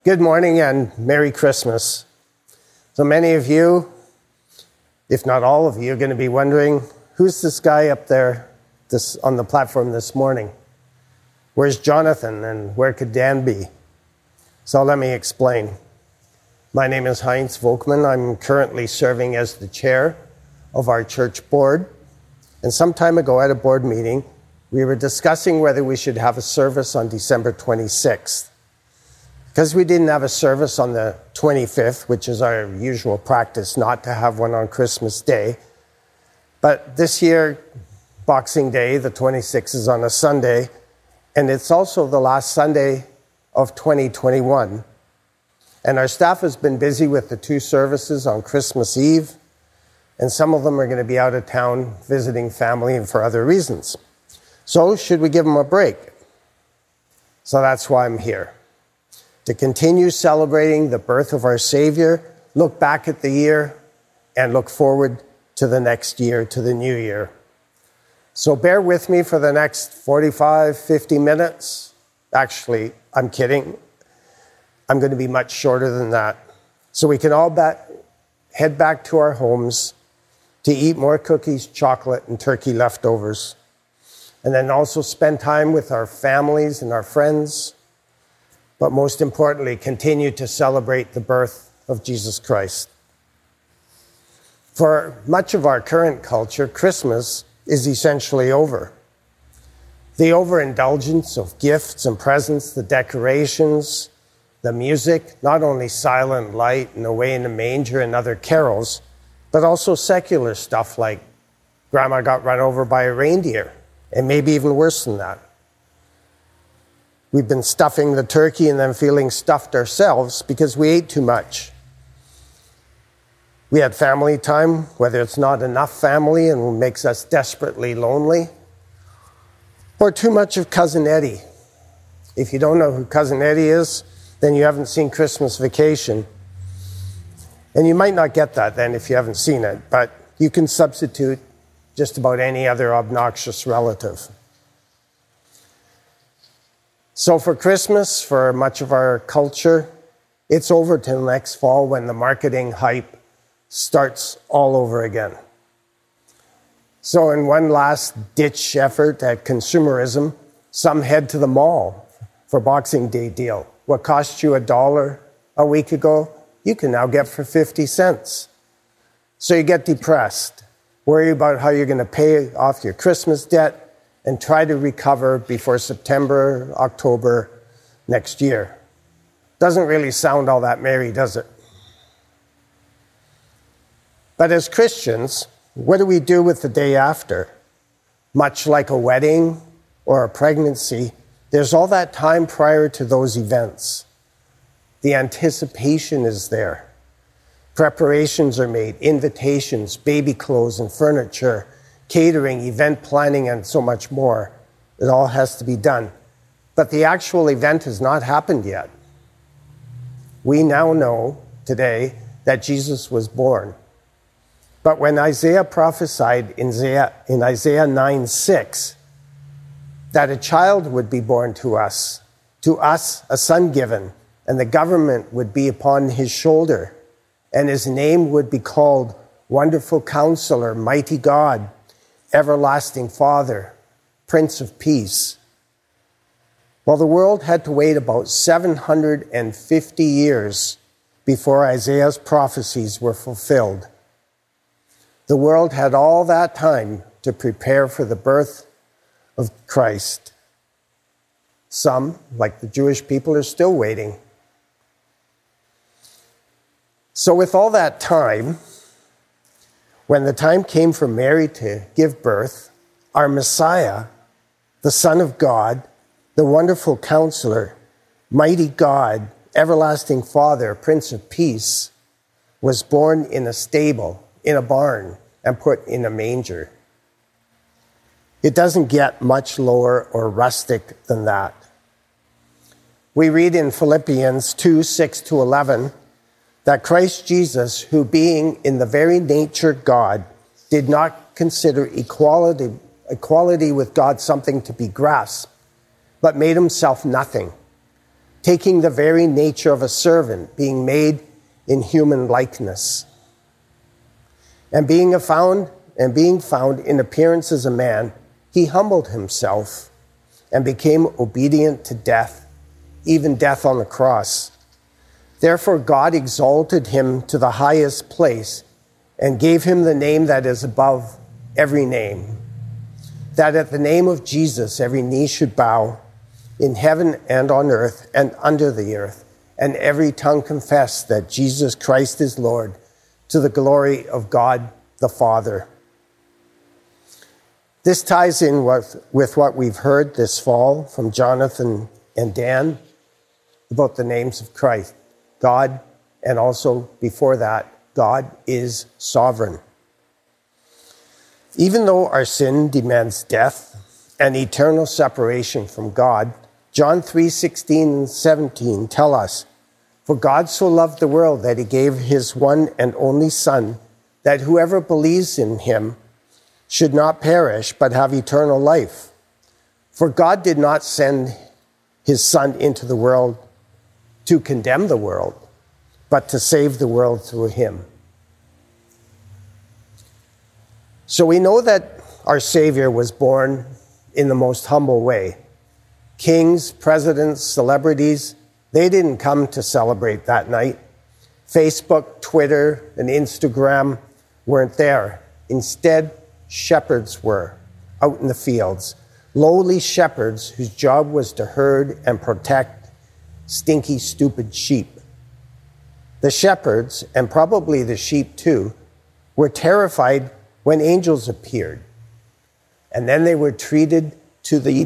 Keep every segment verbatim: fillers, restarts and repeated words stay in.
Good morning and Merry Christmas. So many of you, if not all of you, are going to be wondering, who's this guy up there this, on the platform this morning? Where's Jonathan and where could Dan be? So let me explain. My name is Heinz Volkman. I'm currently serving as the chair of our church board. And some time ago at a board meeting, we were discussing whether we should have a service on December twenty-sixth. Because we didn't have a service on the twenty-fifth, which is our usual practice not to have one on Christmas Day. But this year, Boxing Day, the twenty-sixth, is on a Sunday, and it's also the last Sunday of twenty twenty-one. And our staff has been busy with the two services on Christmas Eve, and some of them are going to be out of town visiting family and for other reasons. So should we give them a break? So that's why I'm here. To continue celebrating the birth of our Savior, look back at the year, and look forward to the next year, to the new year. So bear with me for the next forty-five, fifty minutes. Actually, I'm kidding. I'm going to be much shorter than that. So we can all back, head back to our homes to eat more cookies, chocolate, and turkey leftovers. And then also spend time with our families and our friends. But most importantly, continue to celebrate the birth of Jesus Christ. For much of our current culture, Christmas is essentially over. The overindulgence of gifts and presents, the decorations, the music, not only Silent Night and Away in the Manger and other carols, but also secular stuff like Grandma got run over by a reindeer, and maybe even worse than that. We've been stuffing the turkey and then feeling stuffed ourselves because we ate too much. We had family time, whether it's not enough family and makes us desperately lonely, or too much of Cousin Eddie. If you don't know who Cousin Eddie is, then you haven't seen Christmas Vacation. And you might not get that then if you haven't seen it, but you can substitute just about any other obnoxious relative. So for Christmas, for much of our culture, it's over till next fall when the marketing hype starts all over again. So in one last-ditch effort at consumerism, some head to the mall for Boxing Day deal. What cost you a dollar a week ago, you can now get for fifty cents. So you get depressed, worry about how you're going to pay off your Christmas debt, and try to recover before September, October next year. Doesn't really sound all that merry, does it? But as Christians, what do we do with the day after? Much like a wedding or a pregnancy, there's all that time prior to those events. The anticipation is there. Preparations are made, invitations, baby clothes and furniture, catering, event planning, and so much more. It all has to be done. But the actual event has not happened yet. We now know today that Jesus was born. But when Isaiah prophesied in Isaiah, in Isaiah nine six that a child would be born to us, to us a son given, and the government would be upon his shoulder, and his name would be called Wonderful Counselor, Mighty God, Everlasting Father, Prince of Peace. Well, the world had to wait about seven hundred fifty years before Isaiah's prophecies were fulfilled. The world had all that time to prepare for the birth of Christ. Some, like the Jewish people, are still waiting. So with all that time, when the time came for Mary to give birth, our Messiah, the Son of God, the Wonderful Counselor, Mighty God, Everlasting Father, Prince of Peace, was born in a stable, in a barn, and put in a manger. It doesn't get much lower or rustic than that. We read in Philippians two, six to eleven, that Christ Jesus, who being in the very nature God, did not consider equality, equality with God something to be grasped, but made himself nothing, taking the very nature of a servant, being made in human likeness. And being a found and being found in appearance as a man, he humbled himself and became obedient to death, even death on the cross. Therefore God exalted him to the highest place and gave him the name that is above every name, that at the name of Jesus every knee should bow, in heaven and on earth and under the earth, and every tongue confess that Jesus Christ is Lord, to the glory of God the Father. This ties in with, with what we've heard this fall from Jonathan and Dan about the names of Christ. God, and also before that, God is sovereign. Even though our sin demands death and eternal separation from God, John three sixteen and seventeen tell us, "For God so loved the world that he gave his one and only Son, that whoever believes in him should not perish but have eternal life. For God did not send his Son into the world to condemn the world, but to save the world through him." So we know that our Savior was born in the most humble way. Kings, presidents, celebrities, they didn't come to celebrate that night. Facebook, Twitter, and Instagram weren't there. Instead, shepherds were out in the fields, lowly shepherds whose job was to herd and protect stinky, stupid sheep. The shepherds, and probably the sheep too, were terrified when angels appeared. And then they were treated to the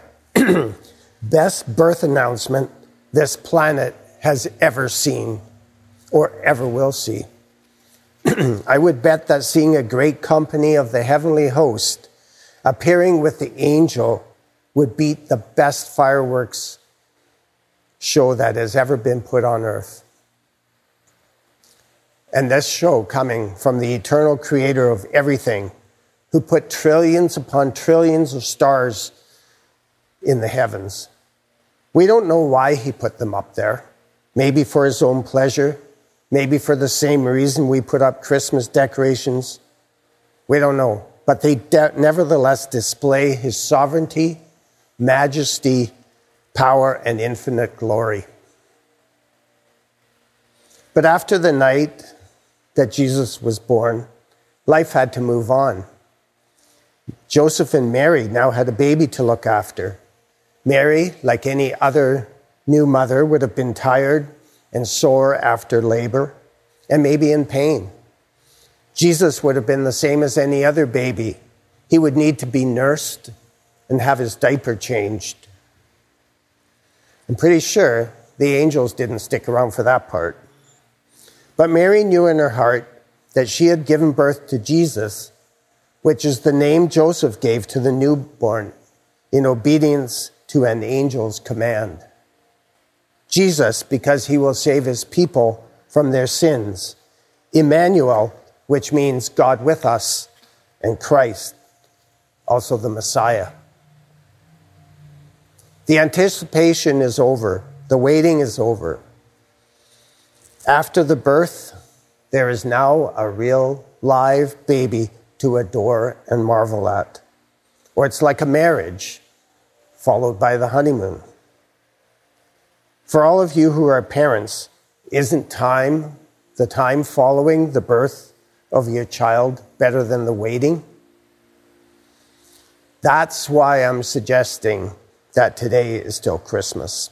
best birth announcement this planet has ever seen or ever will see. I would bet that seeing a great company of the heavenly host appearing with the angel would beat the best fireworks show that has ever been put on earth. And this show coming from the eternal creator of everything, who put trillions upon trillions of stars in the heavens. We don't know why he put them up there. Maybe for his own pleasure. Maybe for the same reason we put up Christmas decorations. We don't know. But they de- nevertheless display his sovereignty, majesty, power, and infinite glory. But after the night that Jesus was born, life had to move on. Joseph and Mary now had a baby to look after. Mary, like any other new mother, would have been tired and sore after labor, and maybe in pain. Jesus would have been the same as any other baby. He would need to be nursed and have his diaper changed. I'm pretty sure the angels didn't stick around for that part. But Mary knew in her heart that she had given birth to Jesus, which is the name Joseph gave to the newborn in obedience to an angel's command. Jesus, because he will save his people from their sins. Emmanuel, which means God with us, and Christ, also the Messiah. The anticipation is over. The waiting is over. After the birth, there is now a real live baby to adore and marvel at. Or it's like a marriage, followed by the honeymoon. For all of you who are parents, isn't time, the time following the birth of your child, better than the waiting? That's why I'm suggesting that today is still Christmas.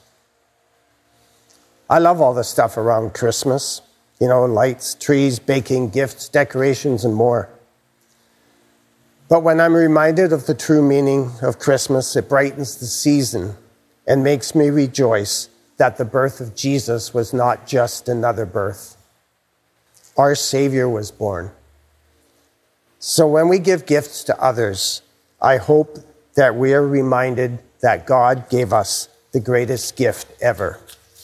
I love all the stuff around Christmas. You know, lights, trees, baking, gifts, decorations, and more. But when I'm reminded of the true meaning of Christmas, it brightens the season and makes me rejoice that the birth of Jesus was not just another birth. Our Savior was born. So when we give gifts to others, I hope that we are reminded that God gave us the greatest gift ever.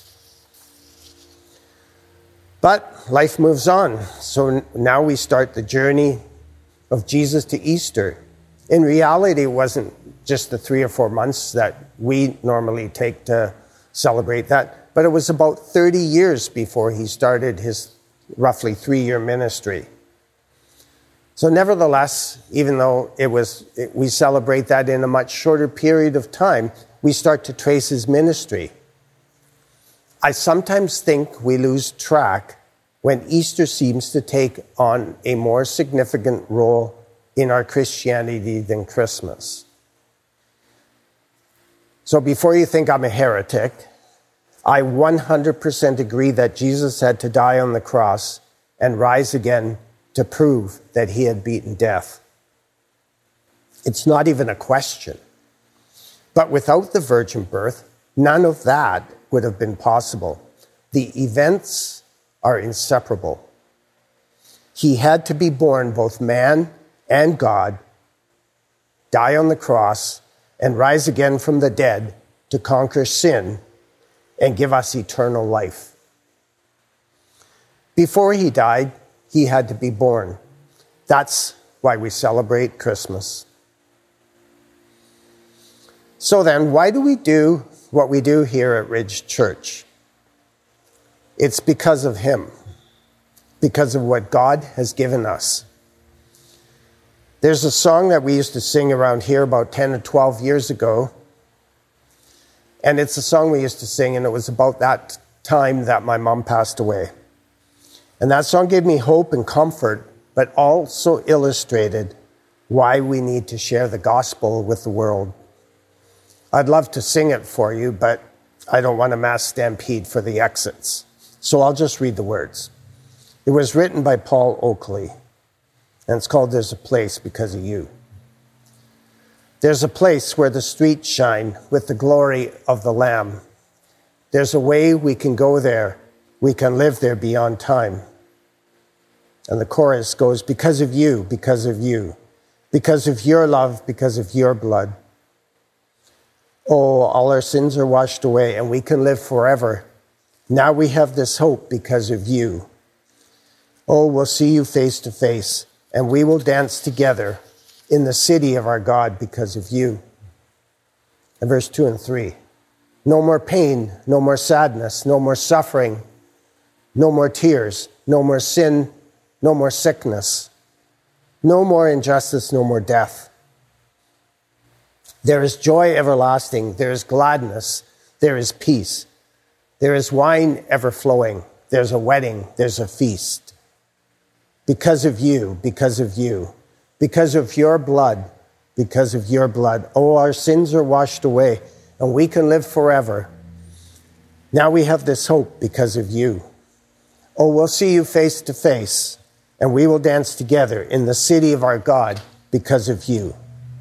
But life moves on. So now we start the journey of Jesus to Easter. In reality, it wasn't just the three or four months that we normally take to celebrate that. But it was about thirty years before he started his roughly three-year ministry. So nevertheless, even though it was, it, we celebrate that in a much shorter period of time, we start to trace his ministry. I sometimes think we lose track when Easter seems to take on a more significant role in our Christianity than Christmas. So before you think I'm a heretic, I one hundred percent agree that Jesus had to die on the cross and rise again to prove that he had beaten death. It's not even a question. But without the virgin birth, none of that would have been possible. The events are inseparable. He had to be born both man and God, die on the cross, and rise again from the dead to conquer sin and give us eternal life. Before he died, he had to be born. That's why we celebrate Christmas. So then, why do we do what we do here at Ridge Church? It's because of him, because of what God has given us. There's a song that we used to sing around here about ten or twelve years ago, and it's a song we used to sing, and it was about that time that my mom passed away. And that song gave me hope and comfort, but also illustrated why we need to share the gospel with the world. I'd love to sing it for you, but I don't want a mass stampede for the exits. So I'll just read the words. It was written by Paul Oakley, and it's called There's a Place Because of You. There's a place where the streets shine with the glory of the Lamb. There's a way we can go there. We can live there beyond time. And the chorus goes, because of you, because of you, because of your love, because of your blood. Oh, all our sins are washed away and we can live forever. Now we have this hope because of you. Oh, we'll see you face to face and we will dance together in the city of our God because of you. And verse two and three. No more pain, no more sadness, no more suffering, no more tears, no more sin, no more sickness, no more injustice, no more death. There is joy everlasting, there is gladness, there is peace. There is wine ever flowing, there's a wedding, there's a feast. Because of you, because of you, because of your blood, because of your blood. Oh, our sins are washed away and we can live forever. Now we have this hope because of you. Oh, we'll see you face to face and we will dance together in the city of our God because of you.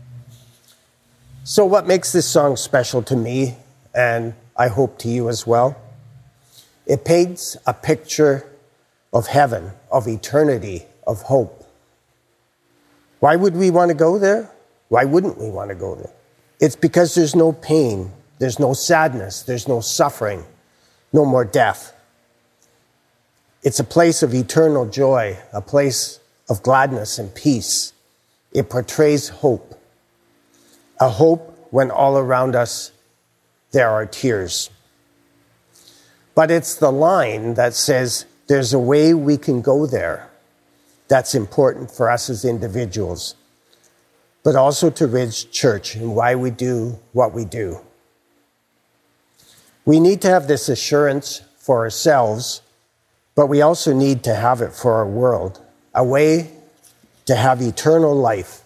So what makes this song special to me, and I hope to you as well? It paints a picture of heaven, of eternity, of hope. Why would we want to go there? Why wouldn't we want to go there? It's because there's no pain, there's no sadness, there's no suffering, no more death. It's a place of eternal joy, a place of gladness and peace. It portrays hope. A hope when all around us there are tears. But it's the line that says there's a way we can go there that's important for us as individuals, but also to Ridge Church and why we do what we do. We need to have this assurance for ourselves, but we also need to have it for our world, a way to have eternal life.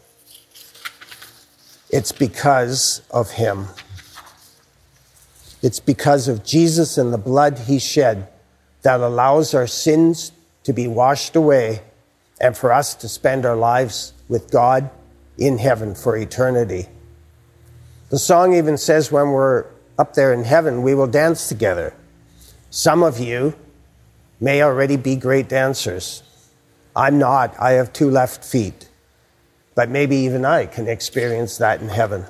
It's because of him. It's because of Jesus and the blood he shed that allows our sins to be washed away and for us to spend our lives with God in heaven for eternity. The song even says when we're up there in heaven, we will dance together. Some of you may already be great dancers. I'm not. I have two left feet. But maybe even I can experience that in heaven.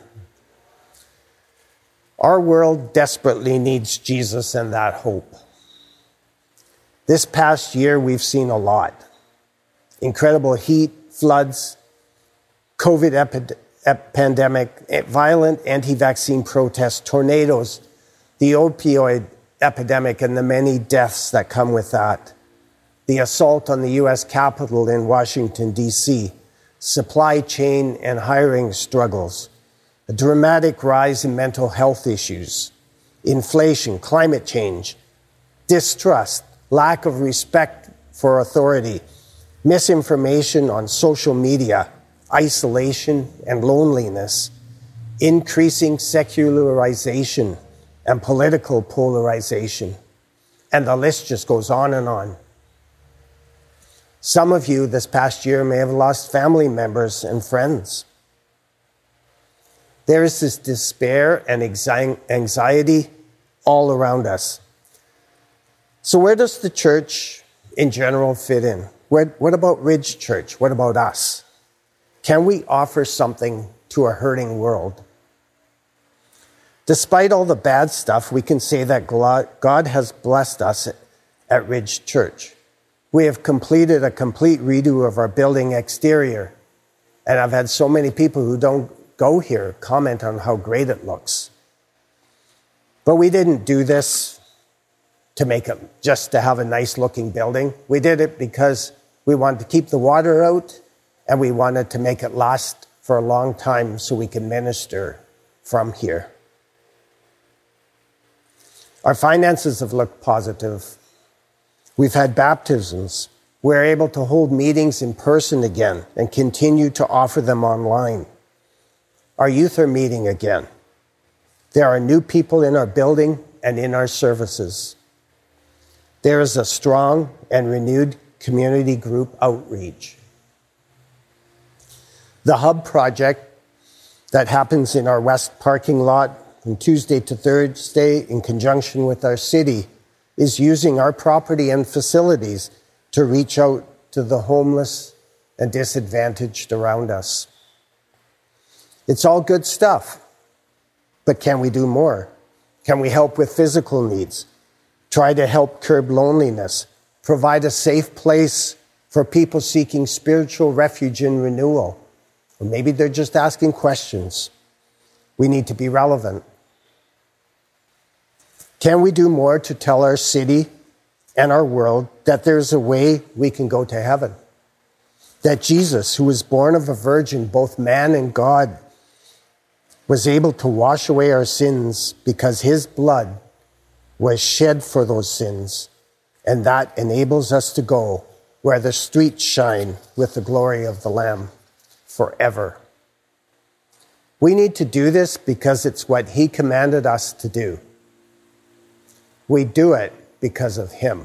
Our world desperately needs Jesus and that hope. This past year, we've seen a lot. Incredible heat, floods, COVID epi- ep- pandemic, violent anti-vaccine protests, tornadoes, the opioid epidemic and the many deaths that come with that, the assault on the U S Capitol in Washington, D C, supply chain and hiring struggles, a dramatic rise in mental health issues, inflation, climate change, distrust, lack of respect for authority, misinformation on social media, isolation and loneliness, increasing secularization and political polarization. And the list just goes on and on. Some of you this past year may have lost family members and friends. There is this despair and anxiety all around us. So where does the church in general fit in? Where, what about Ridge Church? What about us? Can we offer something to a hurting world? Despite all the bad stuff, we can say that God has blessed us at Ridge Church. We have completed a complete redo of our building exterior, and I've had so many people who don't go here comment on how great it looks. But we didn't do this to make it just to have a nice looking building. We did it because we wanted to keep the water out, and we wanted to make it last for a long time so we can minister from here. Our finances have looked positive. We've had baptisms. We're able to hold meetings in person again and continue to offer them online. Our youth are meeting again. There are new people in our building and in our services. There is a strong and renewed community group outreach. The Hub project that happens in our west parking lot from Tuesday to Thursday in conjunction with our city is using our property and facilities to reach out to the homeless and disadvantaged around us. It's all good stuff, but can we do more? Can we help with physical needs? Try to help curb loneliness? Provide a safe place for people seeking spiritual refuge and renewal? Or maybe they're just asking questions. We need to be relevant. Can we do more to tell our city and our world that there's a way we can go to heaven? That Jesus, who was born of a virgin, both man and God, was able to wash away our sins because his blood was shed for those sins, and that enables us to go where the streets shine with the glory of the Lamb forever. We need to do this because it's what he commanded us to do. We do it because of him.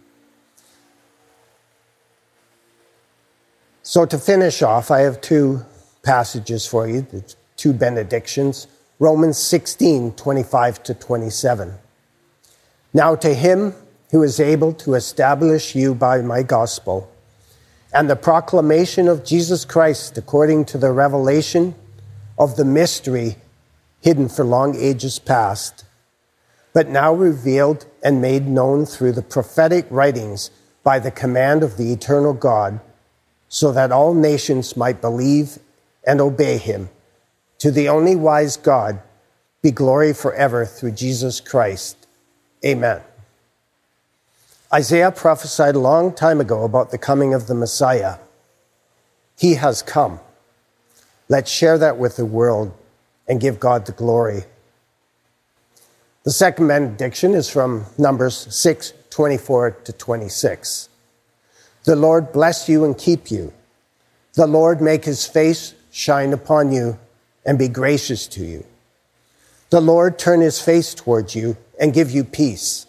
So to finish off, I have two passages for you, two benedictions. Romans sixteen, twenty-five to twenty-seven. Now to him who is able to establish you by my gospel and the proclamation of Jesus Christ according to the revelation of the mystery hidden for long ages past, but now revealed and made known through the prophetic writings by the command of the eternal God, so that all nations might believe and obey him. To the only wise God be glory forever through Jesus Christ. Amen. Isaiah prophesied a long time ago about the coming of the Messiah. He has come. Let's share that with the world and give God the glory. The second benediction is from Numbers six, twenty-four to twenty-six. The Lord bless you and keep you. The Lord make his face shine upon you and be gracious to you. The Lord turn his face towards you and give you peace.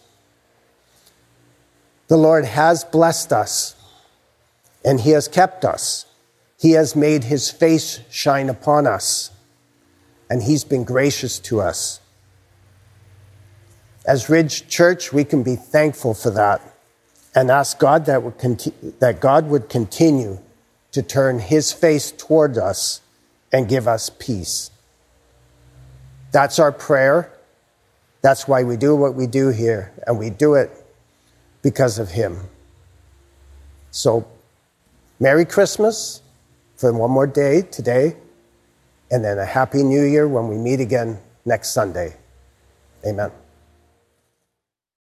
The Lord has blessed us, and he has kept us. He has made his face shine upon us, and he's been gracious to us. As Ridge Church, we can be thankful for that and ask God that, would conti- that God would continue to turn his face toward us and give us peace. That's our prayer. That's why we do what we do here, and we do it because of him. So, Merry Christmas for one more day today, and then a Happy New Year when we meet again next Sunday. Amen.